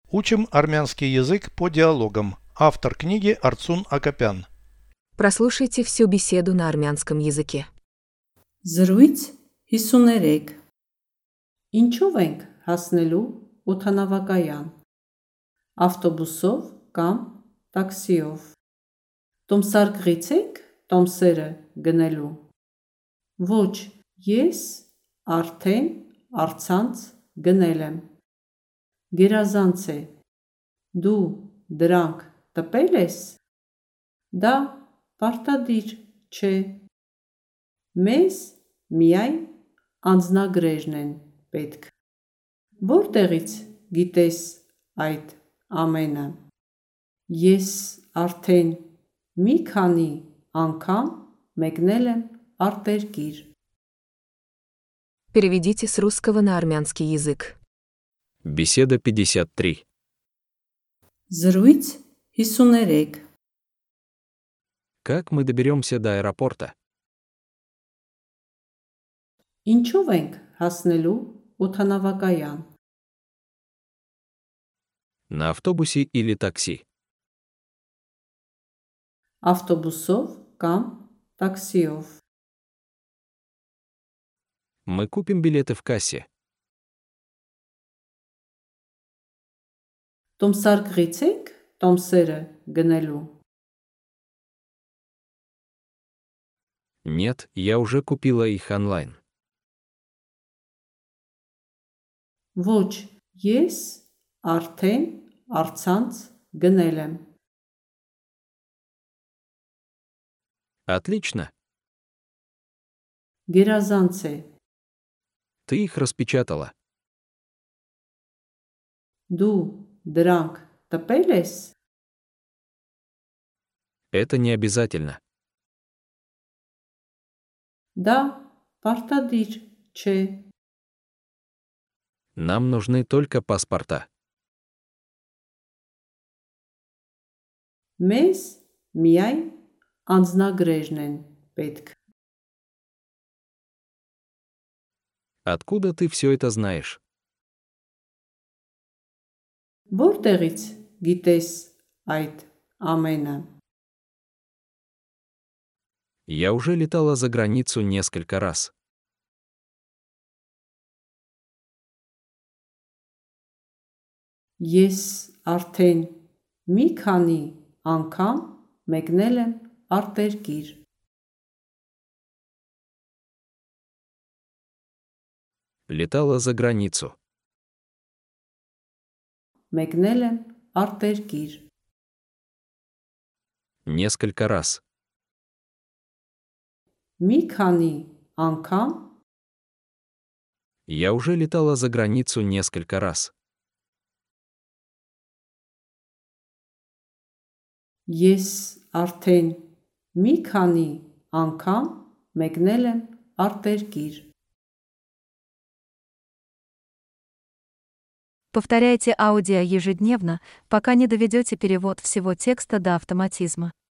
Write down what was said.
Учим армянский язык по диалогам. Автор книги Арцун Акопян. Прослушайте всю беседу на армянском языке. Զրույց 53 Ինչով ենք հասնելու օդանավակայան, ավտոբուսով կամ տաքսիով, տոմսարկղից ենք տոմսերը գնելու, ոչ, ես արդեն առցանց գնել եմ, գերազանց է, դու դրանք տպել ես, դա պարտադիր չէ, մեզ միայն անձնագրերն են պետք, որտեղից գիտես այդ ամենը, ես արդեն մի քանի անգամ մեկնել եմ արտերկիր. Переведите с русского на армянский язык. Беседа 53. Զրույց 53 Как мы доберемся до аэропорта? Ինչով ենք հասնելու օդանավակայան, На автобусе или такси? ավտոբուսով կամ տաքսիով, Мы купим билеты в кассе. տոմսարկղից ենք տոմսերը գնելու, Нет, я уже купила их онлайн. ոչ, ես արդեն առցանց գնել եմ, Отлично. գերազանց է, Ты их распечатала. դու դրանք տպել ես, Это не обязательно. դա պարտադիր չէ, Нам нужны только паспорта. մեզ միայն անձնագրերն են պետք, Откуда ты все это знаешь? որտեղից գիտես այդ ամենը, Я уже летала за границу несколько раз. ես արդեն մի քանի անգամ մեկնել եմ արտերկիր, Летала за границу. մեկնել եմ արտերկիր, Несколько раз. մի քանի անգամ Я уже летала за границу несколько раз. ես արդեն մի քանի անգամ մեկնել եմ արտերկիր, Повторяйте аудио ежедневно, пока не доведете перевод всего текста до автоматизма.